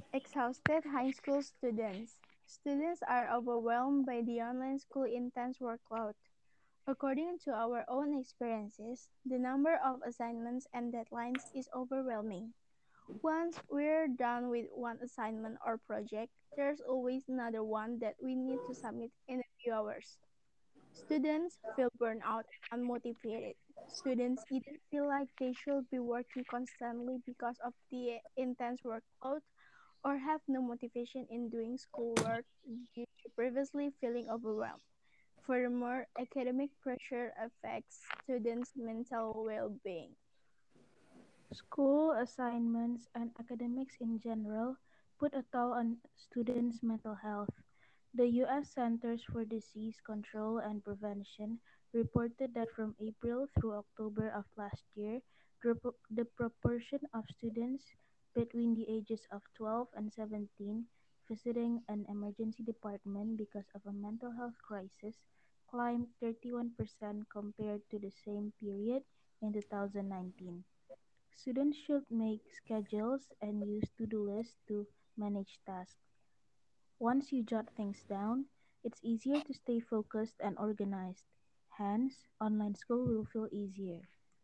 Exhausted high school students. Students are overwhelmed by the online school intense workload. According to our own experiences, the number of assignments and deadlines is overwhelming. Once we're done with one assignment or project, there's always another one that we need to submit in a few hours. Students feel burned out and unmotivated. Students either feel like they should be working constantly because of the intense workload or have no motivation in doing schoolwork due to previously feeling overwhelmed. Furthermore, academic pressure affects students' mental well being. School assignments and academics in general put a toll on students' mental health. The U.S. Centers for Disease Control and Prevention reported that from April through October of last year, the proportion of students between the ages of 12 and 17 visiting an emergency department because of a mental health crisis climbed 31% compared to the same period in 2019. Students should make schedules and use to-do lists to manage tasks. Once you jot things down, it's easier to stay focused and organized. Hence, online school will feel easier.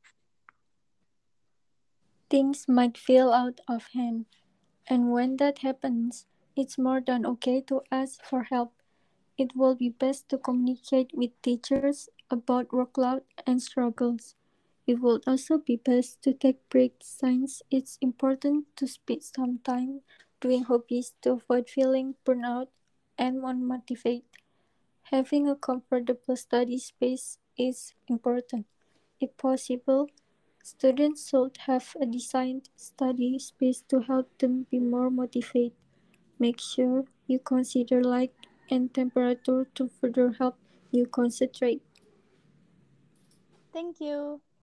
Things might feel out of hand, and when that happens, it's more than okay to ask for help. It will be best to communicate with teachers about workload and struggles. It would also be best to take breaks since it's important to spend some time doing hobbies to avoid feeling burnout and unmotivated. Having a comfortable study space is important. If possible, students should have a designed study space to help them be more motivated. Make sure you consider light and temperature to further help you concentrate. Thank you.